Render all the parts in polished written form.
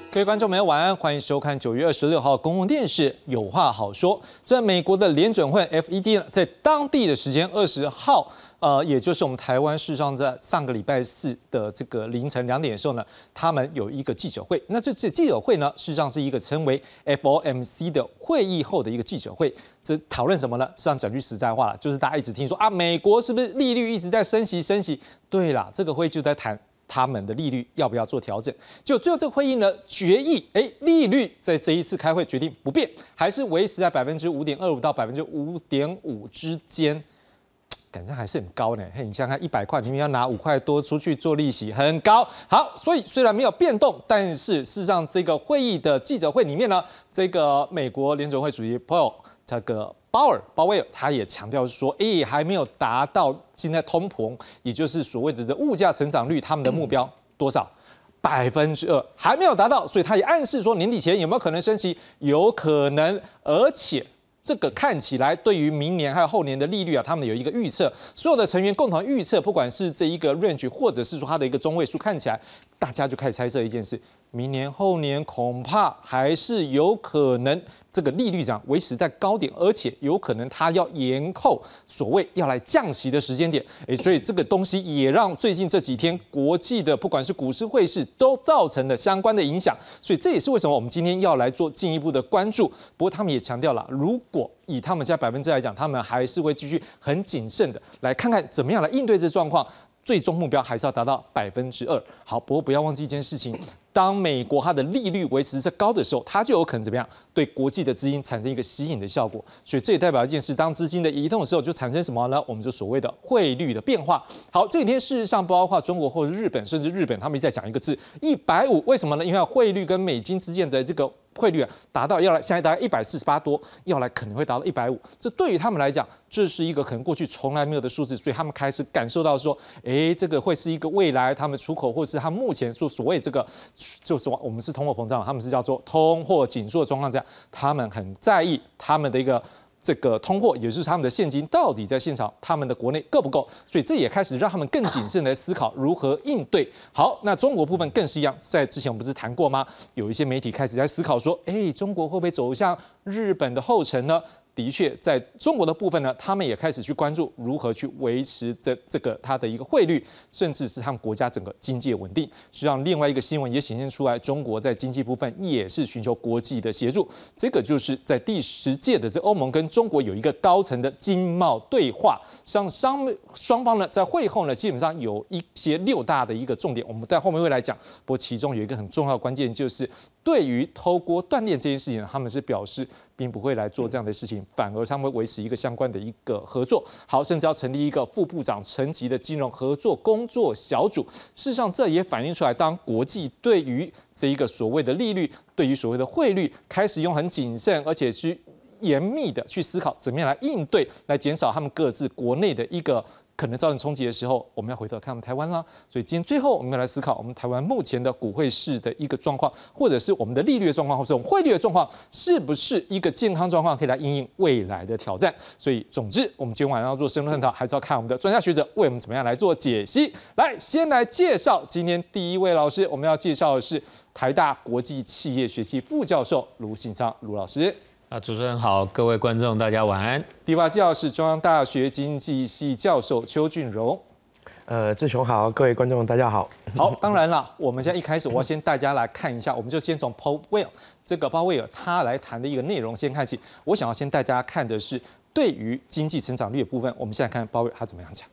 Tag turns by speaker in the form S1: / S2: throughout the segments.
S1: 各位观众朋友，晚安，欢迎收看9月26号公共电视《有话好说》。这美国的联准会 FED 在当地的时间20号，也就是我们台湾事实上在上个礼拜四的这个凌晨2点的时候呢，他们有一个记者会。那这记者会呢，事实上是一个称为 FOMC 的会议后的一个记者会。这讨论什么呢？实际上讲句实在话，就是大家一直听说啊，美国是不是利率一直在升息？对啦，这个会就在谈他们的利率要不要做调整？就最后这个会议呢，决议，利率在这一次开会决定不变，还是维持在5.25%到5.5%之间，感觉还是很高呢。你想想看，100块，明明要拿5块多出去做利息，很高。好，所以虽然没有变动，但是事实上这个会议的记者会里面呢，这个美国联准会主席 Paul 这个鲍威尔他也强调说，还没有达到现在通膨，也就是所谓的这物价成长率，他们的目标多少？2%，还没有达到，所以他也暗示说年底前有没有可能升息？有可能，而且这个看起来对于明年还有后年的利率啊，他们有一个预测，所有的成员共同预测，不管是这一个 range 或者是说它的一个中位数，看起来大家就开始猜测一件事：明年后年恐怕还是有可能。这个利率涨维持在高点，而且有可能它要延后所谓要来降息的时间点，所以这个东西也让最近这几天国际的不管是股市汇市都造成了相关的影响，所以这也是为什么我们今天要来做进一步的关注。不过他们也强调了，如果以他们现在1%来讲，他们还是会继续很谨慎的来看看怎么样来应对这状况。最终目标还是要达到2%。好，不过不要忘记一件事情，当美国它的利率维持在高的时候，它就有可能怎么样对国际的资金产生一个吸引的效果。所以这也代表一件事，当资金的移动的时候，就产生什么呢？我们就所谓的汇率的变化。好，这几天事实上包括中国或者日本，甚至日本他们一直在讲一个字150，为什么呢？因为汇率跟美金之间的这个汇率达到要来，现在大概148多，要来可能会达到150。这对于他们来讲，这是一个可能过去从来没有的数字，所以他们开始感受到说，这个会是一个未来他们出口或者是他们目前所谓这个，就是我们是通货膨胀，他们是叫做通货紧缩的状况下，他们很在意他们的一个。这个通货，也就是他们的现金到底在现场，他们的国内够不够？所以这也开始让他们更谨慎来思考如何应对。好，那中国部分更是一样，在之前我们不是谈过吗？有一些媒体开始在思考说，中国会不会走向日本的后尘呢？的确，在中国的部分呢，他们也开始去关注如何去维持这个它的一个汇率，甚至是他们国家整个经济的稳定。实际上，另外一个新闻也显现出来，中国在经济部分也是寻求国际的协助。这个就是在第10届的这欧盟跟中国有一个高层的经贸对话，双方呢在会后呢，基本上有一些6大的一个重点，我们在后面会来讲。不过其中有一个很重要的关键就是。对于偷锅断链这件事情，他们是表示并不会来做这样的事情，反而他们会维持一个相关的一个合作。好，甚至要成立一个副部长层级的金融合作工作小组。事实上，这也反映出来，当国际对于这一个所谓的利率，对于所谓的汇率，开始用很谨慎而且去严密的去思考怎么样来应对，来减少他们各自国内的一个。可能造成冲击的时候，我们要回头看我们台湾啦。所以今天最后我们要来思考，我们台湾目前的股汇市的一个状况，或者是我们的利率的状况，或者我们汇率的状况，是不是一个健康状况，可以来因应未来的挑战？所以，总之，我们今天晚上要做深入探讨，还是要看我们的专家学者为我们怎么样来做解析。来，先来介绍今天第一位老师，我们要介绍的是台大国际企业学系副教授卢信昌卢老师。
S2: 主持人好，各位观众大家晚安。
S1: 第8介绍是中央大学经济系教授邱俊荣。
S3: 志雄好，各位观众大家好。
S1: 好，当然了，我们现在一开始我要先大家来看一下，我们就先从 Paul Welle 这个鲍威尔他来谈的一个内容先看起。我想要先大家看的是对于经济成长率的部分，我们现在看鲍威尔他怎么样讲。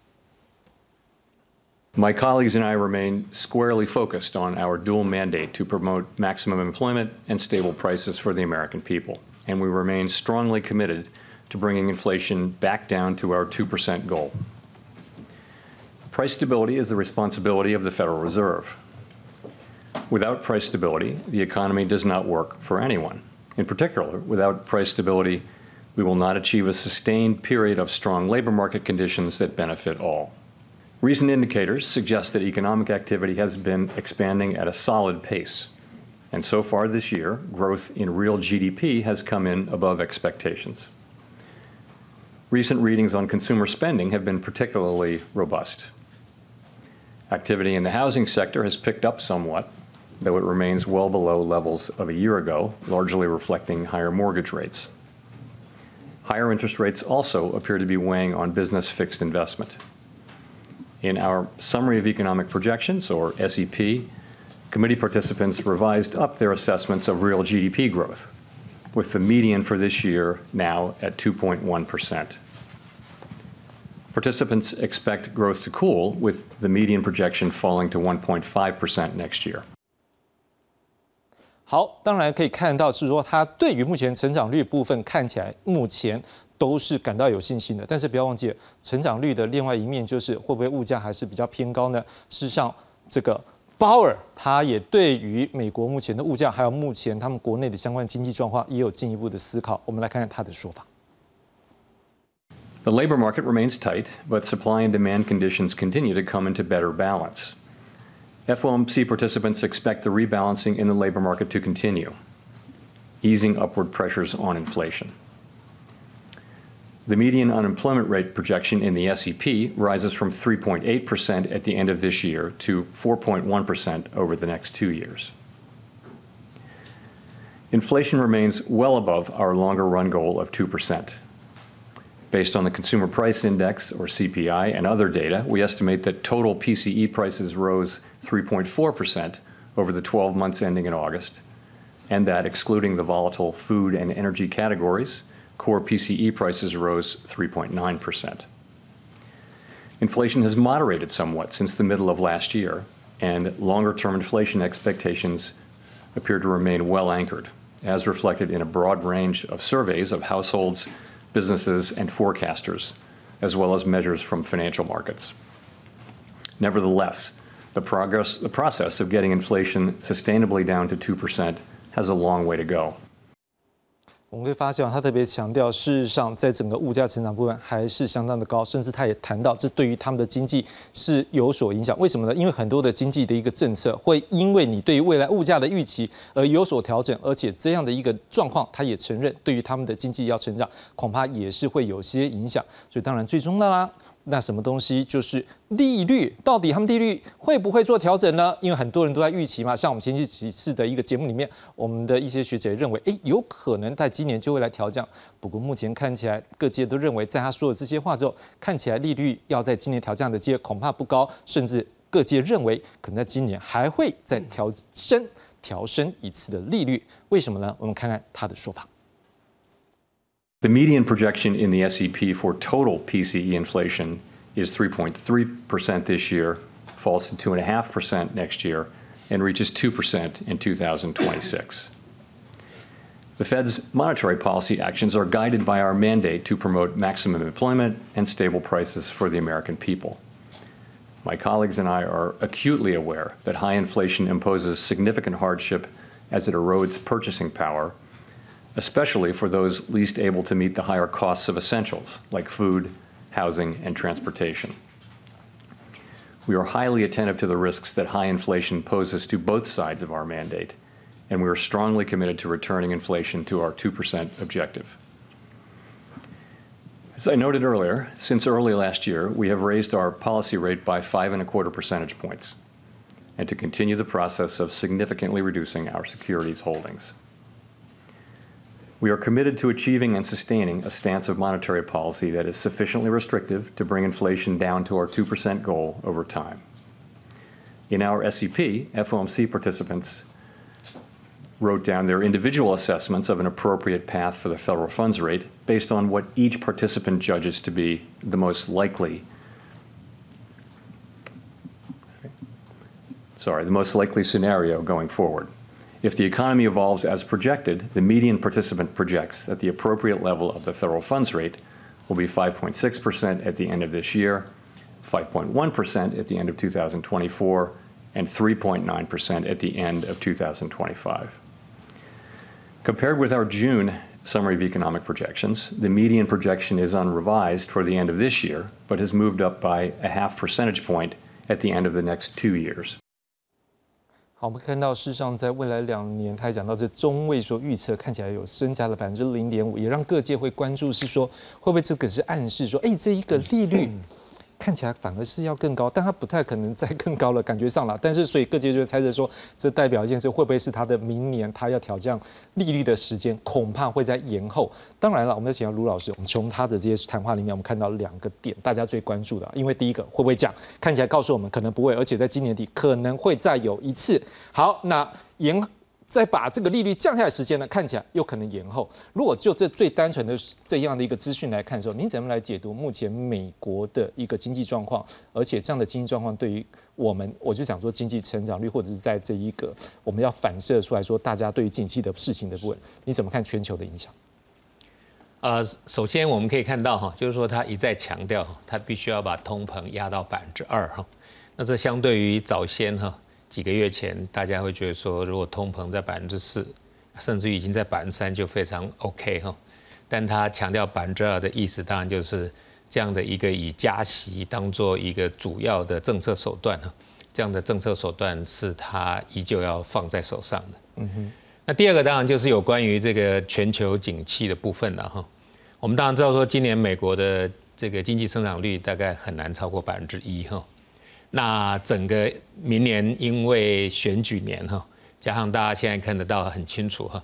S4: My colleagues and I remain squarely focused on our dual mandate to promote maximum employment and stable prices for the American people. And we remain strongly committed to bringing inflation back down to our 2% goal. Price stability is the responsibility of the Federal Reserve. Without price stability, the economy does not work for anyone. In particular, without price stability, we will not achieve a sustained period of strong labor market conditions that benefit all. Recent indicators suggest that economic activity has been expanding at a solid pace. And so far this year, growth in real GDP has come in above expectations. Recent readings on consumer spending have been particularly robust. Activity in the housing sector has picked up somewhat, though it remains well below levels of a year ago, largely reflecting higher mortgage rates. Higher interest rates also appear to be weighing on business fixed investment. In our Summary of Economic Projections, or SEP, committee participants revised up their assessments of real GDP growth, with the median for this year now at 2.1%. Participants expect growth to cool, with the median projection falling to 1.5% next year.
S1: 好，当然可以看到是说，它对于目前成长率部分看起来目前都是感到有信心的。但是不要忘记，成长率的另外一面就是会不会物价还是比较偏高呢？事实上，这个鲍尔他也对于美国目前的物价，还有目前他们国内的相关经济状况也有进一步的思考。我们来看看他的说法。
S4: The labor market remains tight, but supply and demand conditions continue to come into better balance. FOMC participants expect the rebalancing in the labor market to continue, easing upward pressures on inflation. The median unemployment rate projection in the SEP rises from 3.8% at the end of this year to 4.1% over the next 2 years. Inflation remains well above our longer run goal of 2%. Based on the Consumer Price Index, or CPI, and other data, we estimate that total PCE prices rose 3.4% over the 12 months ending in August, and that, excluding the volatile food and energy categories, core PCE prices rose 3.9%. Inflation has moderated somewhat since the middle of last year, and longer-term inflation expectations appear to remain well anchored, as reflected in a broad range of surveys of households, businesses, and forecasters, as well as measures from financial markets. Nevertheless, the process of getting inflation sustainably down to 2% has a long way to go.
S1: 我们会发现，他特别强调，事实上，在整个物价成长部分还是相当的高，甚至他也谈到，这对于他们的经济是有所影响。为什么呢？因为很多的经济的一个政策会因为你对于未来物价的预期而有所调整，而且这样的一个状况，他也承认，对于他们的经济要成长，恐怕也是会有些影响。所以，当然最终的啦。那什么东西就是利率？到底他们利率会不会做调整呢？因为很多人都在预期嘛，像我们前几次的一个节目里面，我们的一些学者认为，有可能在今年就会来调降。不过目前看起来，各界都认为，在他说了这些话之后，看起来利率要在今年调降的机会恐怕不高，甚至各界认为，可能在今年还会再调升一次的利率。为什么呢？我们看看他的说法。
S4: The median projection in the SEP for total PCE inflation is 3.3% this year, falls to 2.5% next year, and reaches 2% in 2026. The Fed's monetary policy actions are guided by our mandate to promote maximum employment and stable prices for the American people. My colleagues and I are acutely aware that high inflation imposes significant hardship as it erodes purchasing power, especially for those least able to meet the higher costs of essentials like food, housing, and transportation. We are highly attentive to the risks that high inflation poses to both sides of our mandate, and we are strongly committed to returning inflation to our 2% objective. As I noted earlier, since early last year, we have raised our policy rate by 5.25 percentage points, and to continue the process of significantly reducing our securities holdings. We are committed to achieving and sustaining a stance of monetary policy that is sufficiently restrictive to bring inflation down to our 2% goal over time. In our SEP, FOMC participants wrote down their individual assessments of an appropriate path for the federal funds rate based on what each participant judges to be the most likely scenario going forward. If the economy evolves as projected, the median participant projects that the appropriate level of the federal funds rate will be 5.6% at the end of this year, 5.1% at the end of 2024, and 3.9% at the end of 2025. Compared with our June Summary of Economic Projections, the median projection is unrevised for the end of this year, but has moved up by a half percentage point at the end of the next 2 years.
S1: 好，我们看到，事实上，在未来2年，他也讲到这中位数预测看起来有增加了0.5%，也让各界会关注，是说会不会这个是暗示说，这一个利率看起来反而是要更高，但它不太可能再更高了，感觉上了。但是所以各界就会猜测说，这代表一件事，会不会是它的明年它要调降利率的时间，恐怕会在延后。当然了，我们请到卢老师，我们从他的这些谈话里面，我们看到2个点，大家最关注的，因为第一个会不会降，看起来告诉我们可能不会，而且在今年底可能会再有一次。好，那再把这个利率降下来的时间呢，看起来又可能延后。如果就这最单纯的这样的一个资讯来看的时候，您怎么来解读目前美国的一个经济状况？而且这样的经济状况对于我就想说经济成长率，或者是在这一个我们要反射出来说大家对于景气的事情的部分，你怎么看全球的影响？
S2: 首先我们可以看到就是说他一再强调他必须要把通膨压到2%那这相对于早先几个月前，大家会觉得说，如果通膨在4%，甚至于已经在3%，就非常 OK 但他强调2%的意思，当然就是这样的一个以加息当做一个主要的政策手段这样的政策手段是他依旧要放在手上的。那第二个当然就是有关于这个全球景气的部分了我们当然知道说，今年美国的这个经济增长率大概很难超过1%那整个明年因为选举年加上大家现在看得到很清楚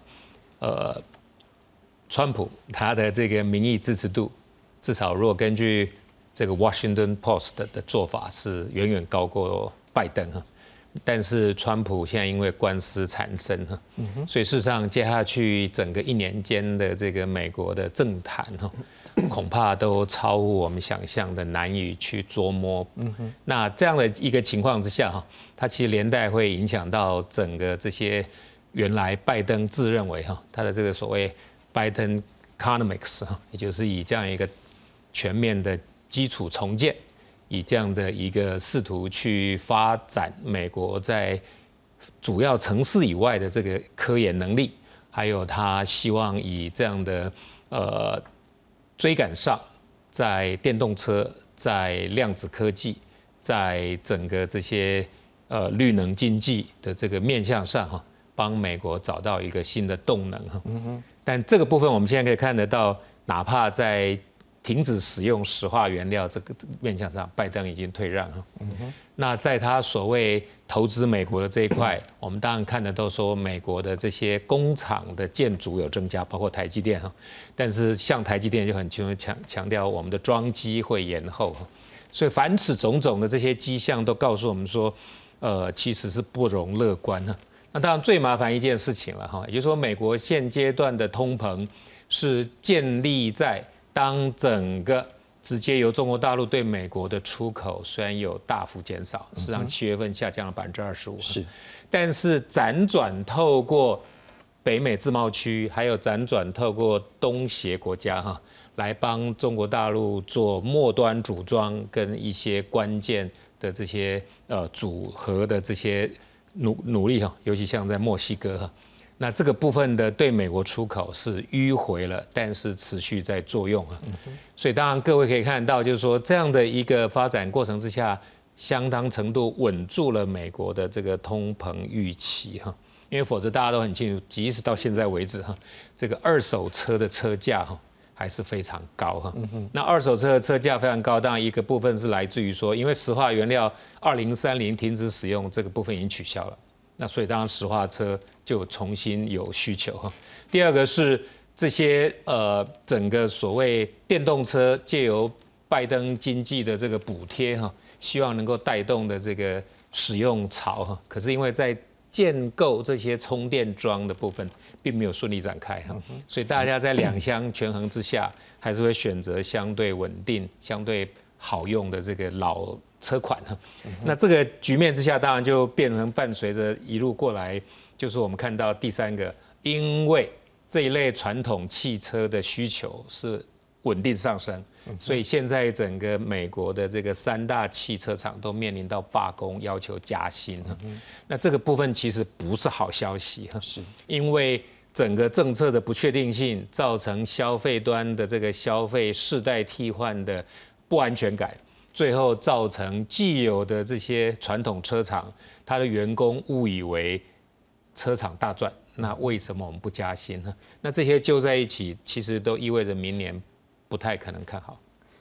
S2: 川普他的这个民意支持度，至少如果根据这个 Washington Post 的做法是远远高过拜登但是川普现在因为官司缠身所以事实上接下去整个1年间的这个美国的政坛恐怕都超乎我们想象的难以去捉摸。那这样的一个情况之下它其实连带会影响到整个这些原来拜登自认为他的这个所谓拜登 economics 也就是以这样一个全面的基础重建，以这样的一个试图去发展美国在主要城市以外的这个科研能力，还有他希望以这样的追赶上在电动车、在量子科技、在整个这些绿能经济的这个面向上帮美国找到一个新的动能但这个部分我们现在可以看得到，哪怕在停止使用石化原料这个面向上，拜登已经退让那在他所谓投资美国的这一块，我们当然看得到说美国的这些工厂的建筑有增加，包括台积电但是像台积电就很清楚强调我们的装机会延后所以凡此种种的这些迹象都告诉我们说，其实是不容乐观那当然最麻烦一件事情了也就是说美国现阶段的通膨是建立在当整个直接由中国大陆对美国的出口虽然有大幅减少，事实上7月份下降了25%，
S1: 是，
S2: 但是辗转透过北美自贸区，还有辗转透过东协国家来帮中国大陆做末端组装跟一些关键的这些组合的这些努力尤其像在墨西哥那这个部分的对美国出口是迂回了，但是持续在作用所以当然各位可以看到，就是说这样的一个发展过程之下，相当程度稳住了美国的这个通膨预期因为否则大家都很清楚，即使到现在为止这个二手车的车价还是非常高那二手车的车价非常高，当然一个部分是来自于说，因为石化原料2030停止使用，这个部分已经取消了。那所以当然石化车就重新有需求第二个是这些整个所谓电动车借由拜登经济的这个补贴希望能够带动的这个使用潮可是因为在建构这些充电桩的部分并没有顺利展开所以大家在两相权衡之下，还是会选择相对稳定、相对好用的这个老车款那这个局面之下，当然就变成伴随着一路过来，就是我们看到第三个，因为这一类传统汽车的需求是稳定上升，所以现在整个美国的这个3大汽车厂都面临到罢工，要求加薪那这个部分其实不是好消息
S1: 是
S2: 因为整个政策的不确定性，造成消费端的这个消费世代替换的不安全感。最后造成既有的这些传统车厂，它的员工误以为车厂大赚，那为什么我们不加薪呢？那这些揪在一起，其实都意味着明年不太可能看好。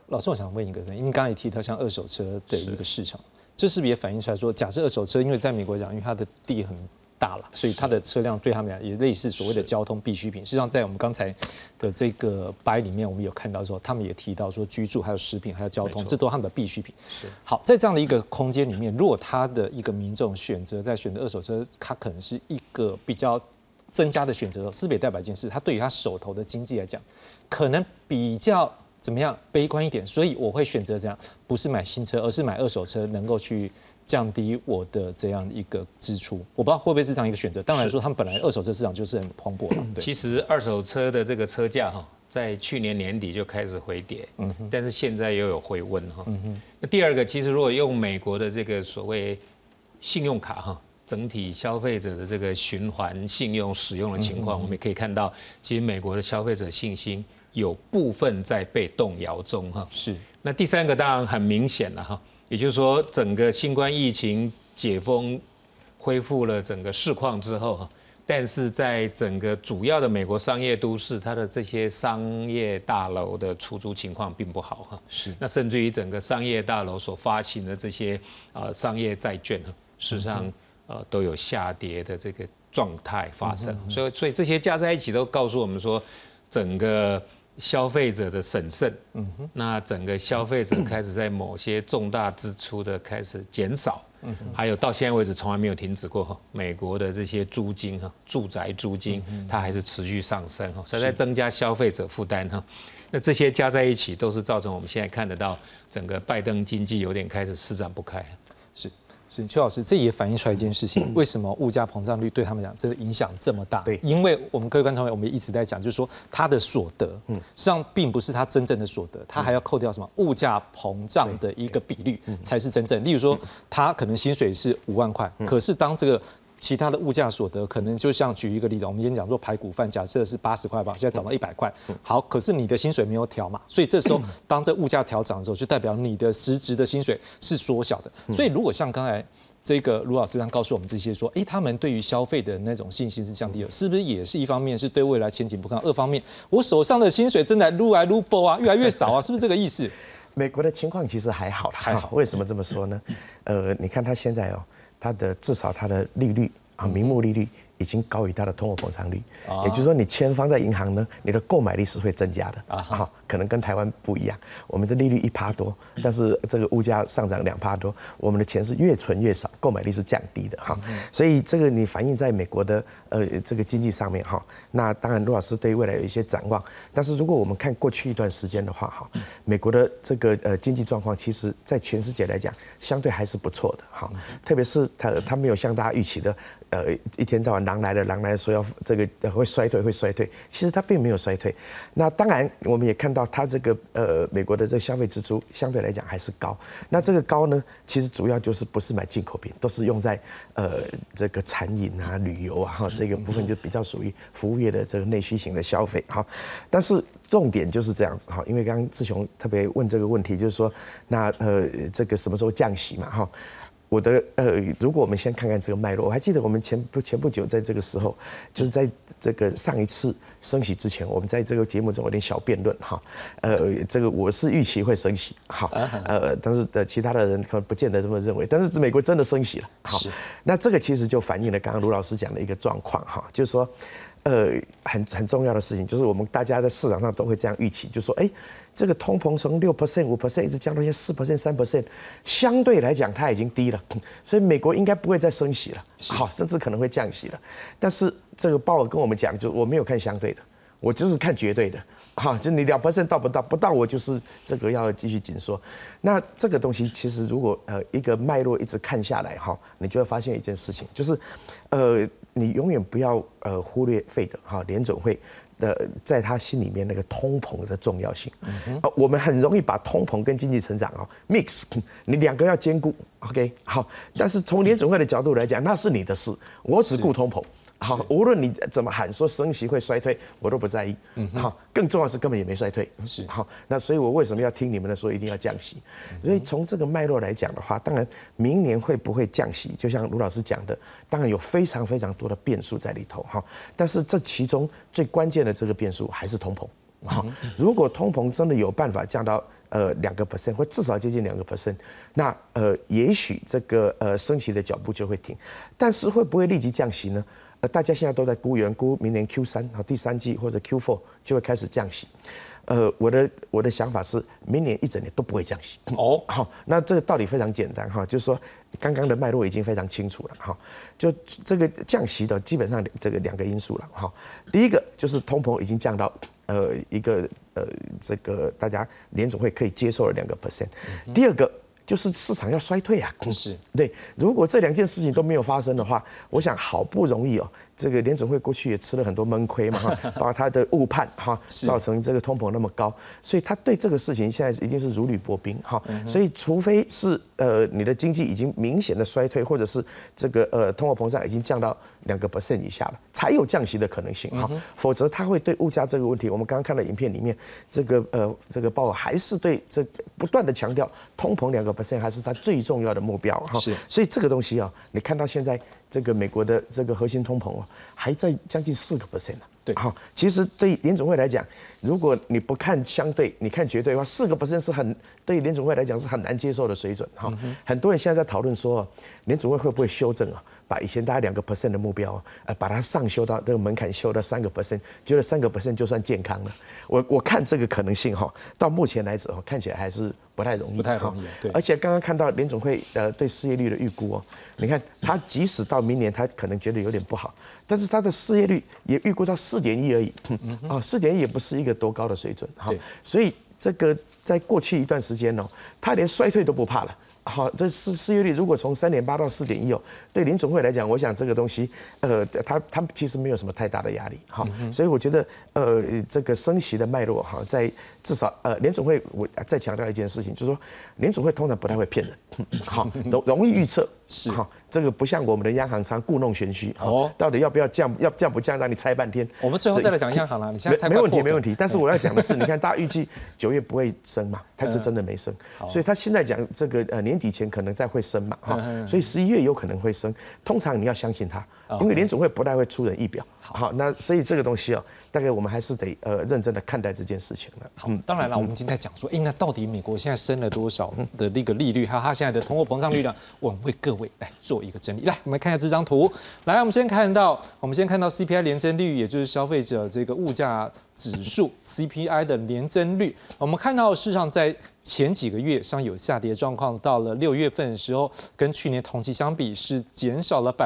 S1: 老师，我想问一个问题，因为刚才也提到像二手车的一个市场，这是不是也反映出来说，假设二手车，因为在美国讲，因为它的地很大了，所以它的车辆对他们来讲也类似所谓的交通必需品。事实上，在我们刚才的这个白里面，我们有看到说，他们也提到说，居住还有食品还有交通，这都是他们的必需品。好，在这样的一个空间里面，如果他的一个民众选择二手车，他可能是一个比较增加的选择，是不是也代表一件事？他对于他手头的经济来讲，可能比较怎么样悲观一点，所以我会选择这样，不是买新车，而是买二手车，能够去降低我的这样一个支出。我不知道会不会是这样一个选择。当然说，他们本来二手车市场就是很蓬勃的。
S2: 其实二手车的这个车价在去年年底就开始回跌，但是现在又有回温哈。那第二个，其实如果用美国的这个所谓信用卡整体消费者的这个循环信用使用的情况，我们也可以看到，其实美国的消费者信心有部分在被动摇中哈。
S1: 是。那
S2: 第三个当然很明显了哈。也就是说，整个新冠疫情解封、恢复了整个市况之后，但是在整个主要的美国商业都市，它的这些商业大楼的出租情况并不好哈。
S1: 是。
S2: 那甚至于整个商业大楼所发行的这些商业债券，事实上都有下跌的这个状态发生。所以这些加在一起都告诉我们说，整个消费者的审慎，那整个消费者开始在某些重大支出的开始减少，还有到现在为止从来没有停止过美国的这些租金住宅租金它还是持续上升所以在增加消费者负担那这些加在一起都是造成我们现在看得到整个拜登经济有点开始施展不开。
S1: 是邱老师，这也反映出来一件事情，为什么物价膨胀率对他们讲这个影响这么大？对，因为我们各位观众朋友，我们一直在讲，就是说他的所得，实际上并不是他真正的所得，他还要扣掉什么物价膨胀的一个比率才是真正。例如说，他可能薪水是5万块，可是当这个其他的物价所得可能就像举一个例子，我们今天讲说排骨饭，假设是80块吧，现在涨到100块，好，可是你的薪水没有调嘛，所以这时候当这物价调涨的时候，就代表你的实质的薪水是缩小的。所以如果像刚才这个卢老师刚告诉我们这些说，他们对于消费的那种信心是降低了，是不是也是一方面是对未来前景不看，二方面我手上的薪水正在撸来撸爆啊，越来越少啊，是不是这个意思？
S3: 美国的情况其实还好啦，还好。为什么这么说呢？你看它现在它的至少它的利率名目利率已经高于它的通货膨胀率，也就是说你钱放在银行呢，你的购买力是会增加的可能跟台湾不一样，我们的利率1%多，但是这个物价上涨2%多，我们的钱是越存越少，购买力是降低的所以这个你反映在美国的这个经济上面那当然卢老师对未来有一些展望，但是如果我们看过去一段时间的话美国的这个经济状况，其实在全世界来讲相对还是不错的特别是它没有像大家预期的一天到晚狼来了说要这个会衰退，其实它并没有衰退。那当然我们也看到它这个美国的这个消费支出相对来讲还是高。那这个高呢，其实主要就是不是买进口品，都是用在这个餐饮旅游这个部分就比较属于服务业的这个内需型的消费但是重点就是这样子因为刚刚志雄特别问这个问题，就是说那这个什么时候降息嘛我的如果我们先看看这个脉络，我还记得我们前不久在这个时候，就是在这个上一次升息之前，我们在这个节目中有点小辩论这个我是预期会升息但是其他的人可能不见得这么认为，但是美国真的升息了那这个其实就反映了刚刚卢老师讲的一个状况就是说很重要的事情，就是我们大家在市场上都会这样预期，就是说这个通膨从6%、5%一直降到现在4%、3%，相对来讲它已经低了，所以美国应该不会再升息了，甚至可能会降息了。但是这个鲍尔跟我们讲，就我没有看相对的，我就是看绝对的。就你2%到不到，我就是这个要继续紧缩。那这个东西其实如果一个脉络一直看下来你就会发现一件事情，就是你永远不要忽略费德联准会的在他心里面那个通膨的重要性。我们很容易把通膨跟经济成长mix， 你两个要兼顾 ，OK 好。但是从联准会的角度来讲，那是你的事，我只顾通膨。无论你怎么喊说升息会衰退，我都不在意。更重要的是根本也没衰退。那所以我为什么要听你们的说一定要降息？所以从这个脉络来讲的话，当然明年会不会降息，就像卢老师讲的，当然有非常非常多的变数在里头但是这其中最关键的这个变数还是通膨。 如果通膨真的有办法降到2%，或至少接近2%，那也许这个升息的脚步就会停。但是会不会立即降息呢？大家现在都在估明年 Q3 第3季或者 Q4 就会开始降息。我的想法是，明年一整年都不会降息。好，那这个道理非常简单哈，就是说刚刚的脉络已经非常清楚了哈。就这个降息的基本上这个2个因素了哈。第一个就是通膨已经降到一个这个大家联总会可以接受的2%。第二个就是市场要衰退啊，
S1: 是
S3: 对。如果这2件事情都没有发生的话，我想好不容易这个联准会过去也吃了很多闷亏嘛，包括他的误判造成这个通膨那么高，所以他对这个事情现在一定是如履薄冰所以除非是你的经济已经明显的衰退，或者是这个通货膨胀已经降到2% 以下了，才有降息的可能性否则他会对物价这个问题，我们刚刚看到影片里面这个鲍尔还是对这个不断的强调通膨2% 还是他最重要的目标所以这个东西你看到现在这个美国的这个核心通膨还在将近4%呢。
S1: 对，
S3: 其实对联总会来讲，如果你不看相对，你看绝对的话，4%是对联总会来讲是很难接受的水准很多人现在在讨论说，联总会会不会修正把以前大概2% 的目标把它上修到这个门槛修到3%，觉得3% 就算健康了。我看这个可能性到目前来止看起来还是不太容易。对。而且刚刚看到联总会对失业率的预估你看他即使到明年他可能觉得有点不好，但是他的失业率也预估到4.1而已，4.1也不是一个多高的水准所以这个在过去一段时间他连衰退都不怕了。这失业率如果从3.8到4.1对联总会来讲，我想这个东西，他其实没有什么太大的压力所以我觉得这个升息的脉络在至少联总会，我再强调一件事情，就是说联总会通常不太会骗人，容易预测
S1: 是
S3: 这个不像我们的央行常故弄玄虚到底要不要降，降不降，让你猜半天。
S1: 我们最后再来讲央行啦，你现在太
S3: 没问题。但是我要讲的是，你看大家预计9月不会升嘛，它就真的没升，所以他现在讲这个年底前可能再会升嘛所以11月有可能会升。通常你要相信他，因为联总会不太会出人意表。那所以这个东西大概我们还是得认真的看待这件事情了。
S1: 当然了，我们今天在讲说，那到底美国现在升了多少的那个利率，还有它现在的通货膨胀率呢？我们为各位来做一个整理。来，我们看一下这张图。来，我们先看到 CPI 年增率，也就是消费者这个物价指数 CPI 的年增率。我们看到，事实上在前几个月上有下跌状况，到了6月份的时候，跟去年同期相比是减少了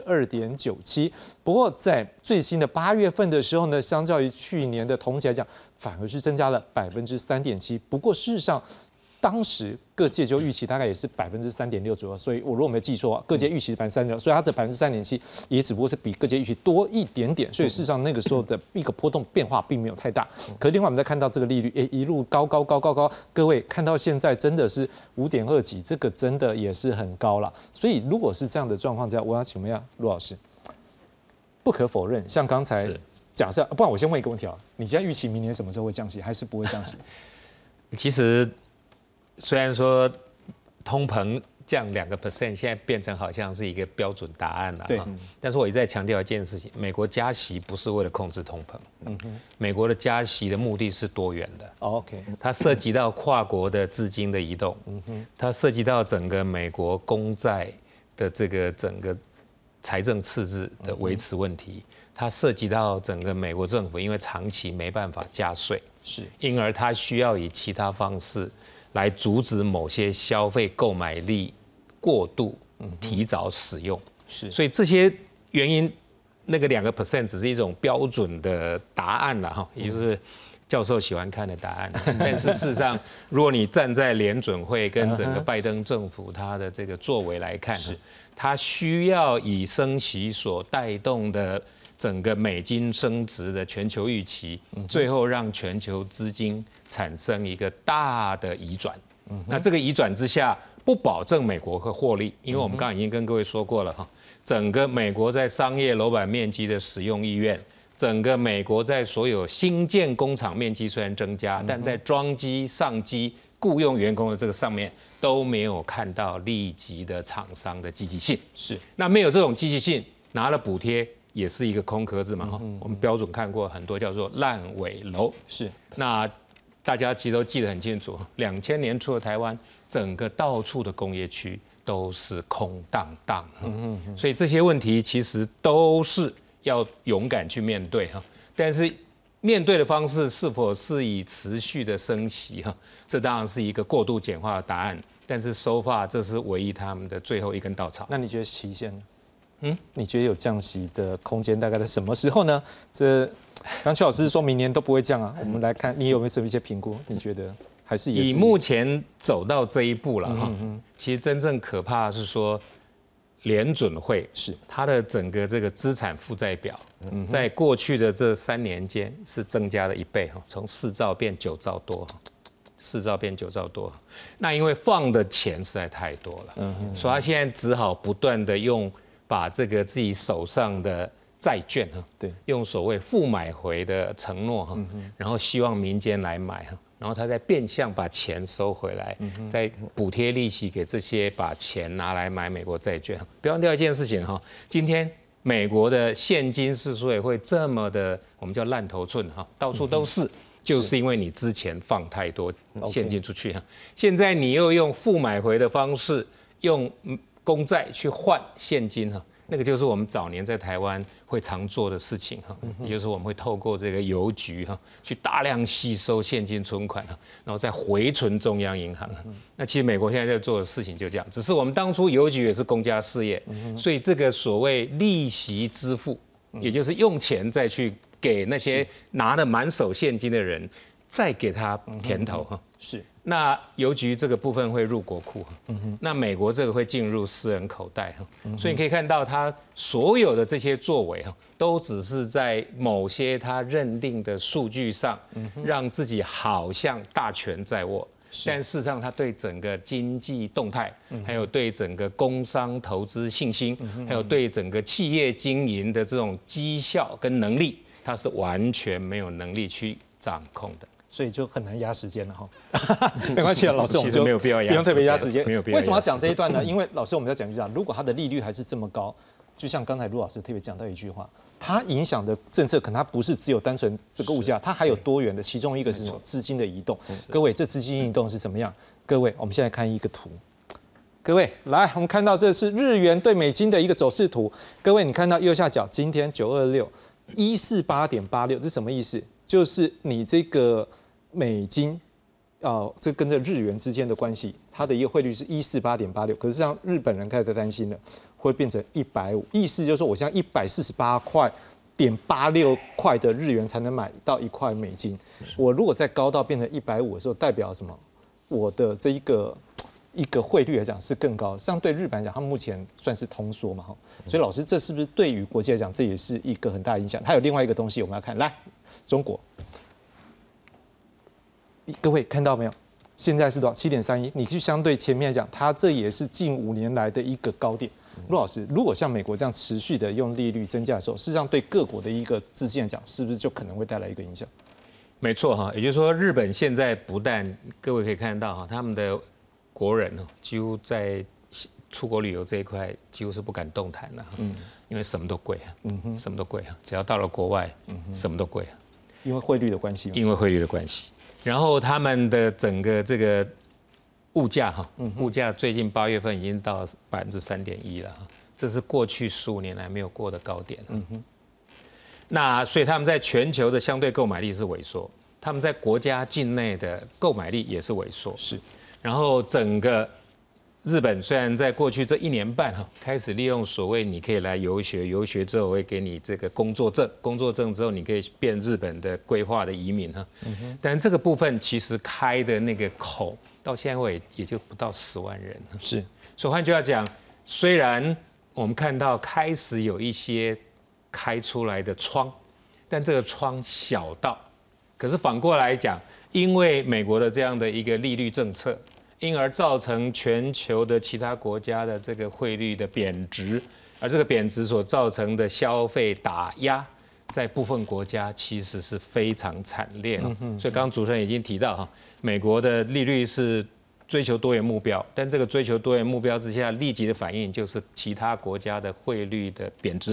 S1: 2.97%。不过在最新的8月份的时候呢，相较于去年的同期来讲，反而是增加了3.7%。不过事实上，当时各界就预期大概也是3.6%左右，所以我如果没记错，各界预期是3.6%，所以它这3.7%也只不过是比各界预期多一点点，所以事实上那个时候的一个波动变化并没有太大。可是另外我们再看到这个利率，一路高，各位看到现在真的是5.2几，这个真的也是很高了。所以如果是这样的状况下，我要请问一下陆老师，不可否认，像刚才假设，不然我先问一个问题你现在预期明年什么时候会降息，还是不会降息？
S2: 其实虽然说通膨降2%，现在变成好像是一个标准答案了，对。但是我一再强调一件事情，美国加息不是为了控制通膨，美国的加息的目的是多元的
S1: ，OK，
S2: 它涉及到跨国的资金的移动，它涉及到整个美国公债的这个整个财政赤字的维持问题，它涉及到整个美国政府因为长期没办法加税，
S1: 是，
S2: 因而它需要以其他方式来阻止某些消费购买力过度提早使用，
S1: 是，
S2: 所以这些原因，那个2% 只是一种标准的答案了也就是教授喜欢看的答案。但是事实上，如果你站在联准会跟整个拜登政府他的这个作为来看，他需要以升息所带动的整个美金升值的全球预期，最后让全球资金产生一个大的移转。那这个移转之下，不保证美国会获利，因为我们刚刚已经跟各位说过了整个美国在商业楼板面积的使用意愿，整个美国在所有新建工厂面积虽然增加，但在装机、上机、雇佣员工的这个上面都没有看到立即的厂商的积极性。
S1: 是，
S2: 那没有这种积极性，拿了补贴也是一个空壳子嘛哈。我们标准看过很多叫做烂尾楼。
S1: 是。
S2: 那大家其实都记得很清楚，2000年初的台湾，整个到处的工业区都是空荡荡。所以这些问题其实都是要勇敢去面对哈。但是面对的方式是否是以持续的升息哈？这当然是一个过度简化的答案。但是so far这是唯一他们的最后一根稻草。
S1: 那你觉得期限呢？你觉得有降息的空间大概在什么时候呢？刚邱老师说明年都不会降啊，我们来看你有没有什么一些评估？你觉得还是也是？
S2: 以目前走到这一步了哈，其实真正可怕的是说，联准会是它的整个这个资产负债表，在过去的这3年间是增加了1倍哈，从4兆变9兆多。4兆变9兆多，那因为放的钱实在太多了，所以他现在只好不断的把这个自己手上的债券哈，对，用所谓负买回的承诺哈，然后希望民间来买哈，然后他再变相把钱收回来，再补贴利息给这些把钱拿来买美国债券。不要忘掉一件事情哈，今天美国的现金是所以会这么的，我们叫烂头寸哈，到处都是。就是因为你之前放太多现金出去，现在你又用负买回的方式，用公债去换现金哈，那个就是我们早年在台湾会常做的事情哈，也就是我们会透过这个邮局哈，去大量吸收现金存款哈，然后再回存中央银行。那其实美国现在在做的事情就这样，只是我们当初邮局也是公家事业，所以这个所谓利息支付，也就是用钱再去给那些拿了满手现金的人，再给他甜头哈。是，那邮局这个部分会入国库，那美国这个会进入私人口袋哈。所以你可以看到，他所有的这些作为哈，都只是在某些他认定的数据上，让自己好像大权在握。但事实上，他对整个经济动态，还有对整个工商投资信心，还有对整个企业经营的这种绩效跟能力，他是完全没有能力去掌控的。所以就很难压时间了哈。没关系啊，老师，我们就没有必要不用特别压时间。没有必要。为什么要讲这一段呢？因为老师，我们要讲一下，如果它的利率还是这么高，就像刚才陆老师特别讲到一句话，它影响的政策可能它不是只有单纯这个物价，它还有多元的，其中一个是什么？资金的移动。各位，这资金移动是怎么样？各位，我们现在看一个图。各位，来，我们看到这是日元对美金的一个走势图。各位，你看到右下角，今天926，148.86，这是什么意思？就是你这个美金，这跟着日元之间的关系，它的一个汇率是148.86，可是让日本人开始担心了，会变成150，意思就是说我现在148.86块的日元才能买到1块美金，我如果再高到变成150的时候，代表什么？我的这一个汇率来讲是更高，相对日本来讲，他们目前算是通缩嘛，所以老师，这是不是对于国际来讲，这也是一个很大的影响？还有另外一个东西我们要看，来，中国。各位看到没有？现在是多少？7.31。你去相对前面来讲，它这也是近5年来的一个高点。陆老师，如果像美国这样持续的用利率增加的时候，事实上对各国的一个资金来讲，是不是就可能会带来一个影响？ 没错哈，也就是说，日本现在不但各位可以看到哈，他们的国人几乎在出国旅游这一块几乎是不敢动弹了，因为什么都贵啊，什么都贵啊，只要到了国外，什么都贵啊，
S1: 因为汇率的关系。
S2: 因为汇率的关系。然后他们的整个这个物价物价最近8月份已经到3.1%了，这是过去15年来没有过的高点。那所以他们在全球的相对购买力是萎缩，他们在国家境内的购买力也是萎缩。是，然后整个日本虽然在过去这1年半开始利用所谓你可以来游学，游学之后我会给你这个工作证，工作证之后你可以变日本的规划的移民但这个部分其实开的那个口到现在也就不到10万人。是，所以换句话讲，虽然我们看到开始有一些开出来的窗，但这个窗小到，可是反过来讲，因为美国的这样的一个利率政策，因而造成全球的其他国家的这个汇率的贬值，而这个贬值所造成的消费打压，在部分国家其实是非常惨烈。所以刚刚主持人已经提到美国的利率是追求多元目标，但这个追求多元目标之下，立即的反应就是其他国家的汇率的贬值，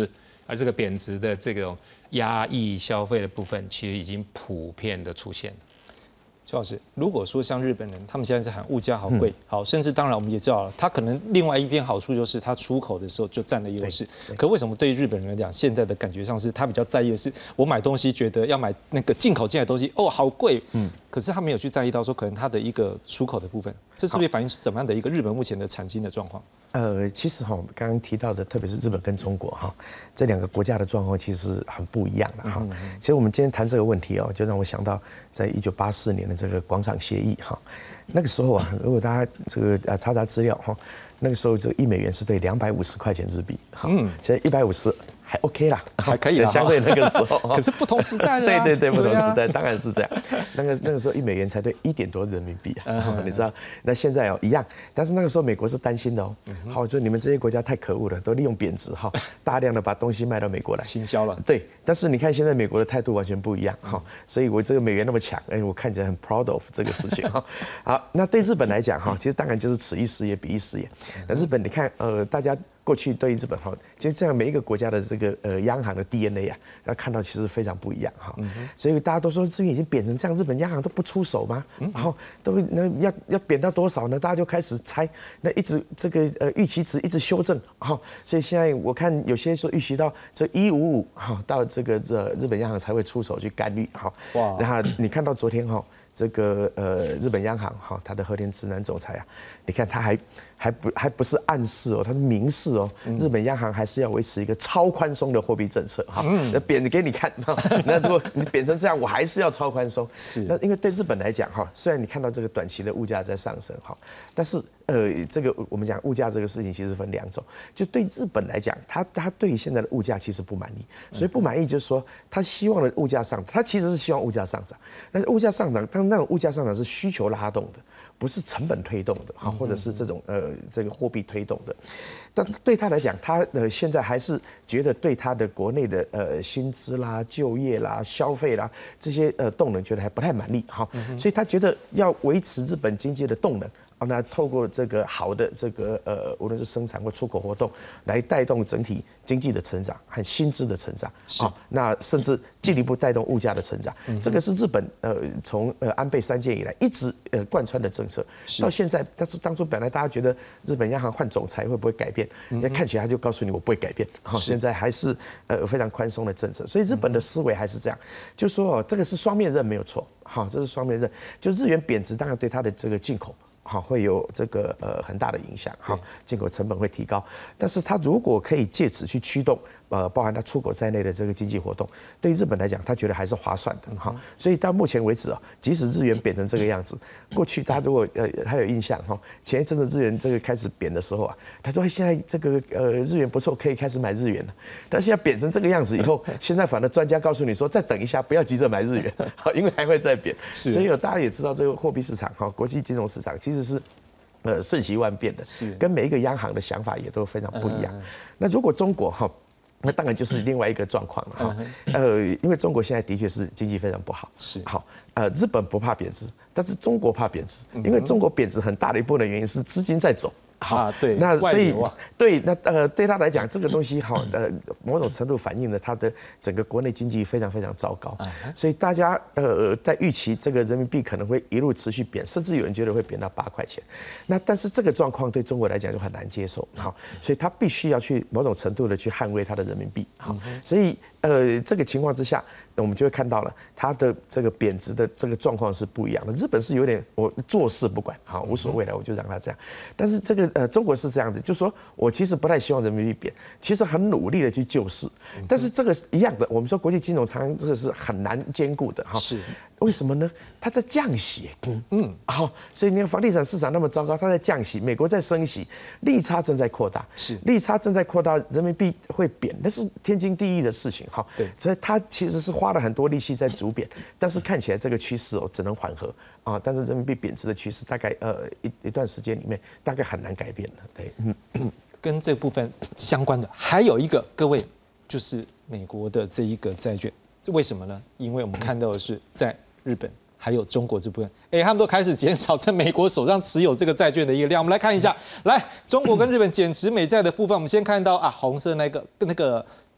S2: 而这个贬值的这种压抑消费的部分，其实已经普遍的出现了。
S1: 邱老师，如果说像日本人，他们现在在喊物价好贵，好，甚至当然我们也知道了，他可能另外一边好处就是他出口的时候就占了优势。可为什么对日本人来讲，现在的感觉上是他比较在意的是，我买东西觉得要买那个进口进来的东西，哦，好贵，可是他没有去在意到说可能他的一个出口的部分，这是不是反映出怎么样的一个日本目前的产经的状况？
S3: 其实哈，刚刚提到的，特别是日本跟中国哈，这两个国家的状况其实很不一样的哈。其实我们今天谈这个问题哦，就让我想到在1984年的这个广场协议哈，那个时候啊，如果大家这个查资料哈，那个时候这个1美元是对250块钱日币，现在150。还 OK 啦，
S1: 还可以啦，
S3: 相对那个时候。
S1: 可是不同时代了。
S3: 对，不同时代当然是这样。那个时候1美元才对1点多人民币啊，你知道？那现在哦一样，但是那个时候美国是担心的哦。好，就你们这些国家太可恶了，都利用贬值哈，大量的把东西卖到美国来，
S1: 倾销了。
S3: 对，但是你看现在美国的态度完全不一样哈，所以我这个美元那么强，我看起来很 proud of 这个事情哈。好，那对日本来讲哈，其实当然就是此一时也彼一时也。那日本你看大家。过去对于日本哈，其实这样每一个国家的这个央行的 DNA 啊，要看到其实非常不一样哈。所以大家都说日元已经贬成这样，日本央行都不出手吗？然后要贬到多少呢？大家就开始猜，那一直这个预期值一直修正哈。所以现在我看有些说预期到这155哈，到这个日本央行才会出手去干预哈。哇！然后你看到昨天哈。这个日本央行哈，他的和田直男总裁啊，你看他还不是暗示哦，他是明示哦，日本央行还是要维持一个超宽松的货币政策哈，那贬给你看，那如果你贬成这样，我还是要超宽松。是，那因为对日本来讲哈，虽然你看到这个短期的物价在上升哈，但是这个我们讲物价这个事情其实分2种，就对日本来讲，他对于现在的物价其实不满意，所以不满意就是说他希望的物价上涨，他其实是希望物价上涨，但是物价上涨，那种物价上涨是需求拉动的，不是成本推动的哈，或者是这种这个货币推动的。但对他来讲，他现在还是觉得对他的国内的薪资啦、就业啦、消费啦这些动能，觉得还不太满意哈，所以他觉得要维持日本经济的动能。那透过这个好的这个无论是生产或出口活动，来带动整体经济的成长和薪资的成长，那甚至进一步带动物价的成长。这个是日本从安倍3届以来一直贯穿的政策，到现在，但是当初本来大家觉得日本央行换总裁会不会改变，那看起来他就告诉你我不会改变，现在还是非常宽松的政策，所以日本的思维还是这样，就说这个是双面刃没有错，好，这是双面刃，就日元贬值当然对它的这个进口。好，会有这个很大的影响，好，进口成本会提高，但是它如果可以借此去驱动包含它出口在内的这个经济活动，对于日本来讲，他觉得还是划算的哈。所以到目前为止啊，即使日元贬成这个样子，过去大家如果还有印象哈，前一阵子日元这个开始贬的时候啊，他说现在这个日元不错，可以开始买日元了。但现在贬成这个样子以后，现在反而专家告诉你说，再等一下，不要急着买日元，好，因为还会再贬。所以大家也知道这个货币市场哈，国际金融市场其实是。瞬息万变的，是跟每一个央行的想法也都非常不一样。那如果中国哈，那当然就是另外一个状况了哈。因为中国现在的确是经济非常不好，是好。日本不怕贬值，但是中国怕贬值，因为中国贬值很大的一部分的原因是资金在走。
S1: 啊，对，
S3: 那所以对那对他来讲，这个东西好某种程度反映了他的整个国内经济非常非常糟糕，所以大家在预期这个人民币可能会一路持续贬，甚至有人觉得会贬到8块钱。那但是这个状况对中国来讲就很难接受，好，所以他必须要去某种程度的去捍卫他的人民币，好，所以这个情况之下，我们就会看到了它的这个贬值的这个状况是不一样的。日本是有点我坐视不管，好，无所谓了，我就让它这样。但是这个中国是这样子，就是说我其实不太希望人民币贬，其实很努力的去救市，但是这个一样的，我们说国际金融常这个是很难兼顾的哈。是。为什么呢？它在降息，好，所以你看房地产市场那么糟糕，它在降息，美国在升息，利差正在扩大，是利差正在扩大，人民币会贬，那是天经地义的事情，哈，对，所以它其实是花了很多力气在逐贬，但是看起来这个趋势只能缓和啊，但是人民币贬值的趋势大概一段时间里面大概很难改变了，对，
S1: 跟这部分相关的还有一个，各位就是美国的这一个债券，为什么呢？因为我们看到的是在日本还有中国这部分，他们都开始减少在美国手上持有这个债券的一个量。我们来看一下，来中国跟日本减持美债的部分，我们先看到红色那个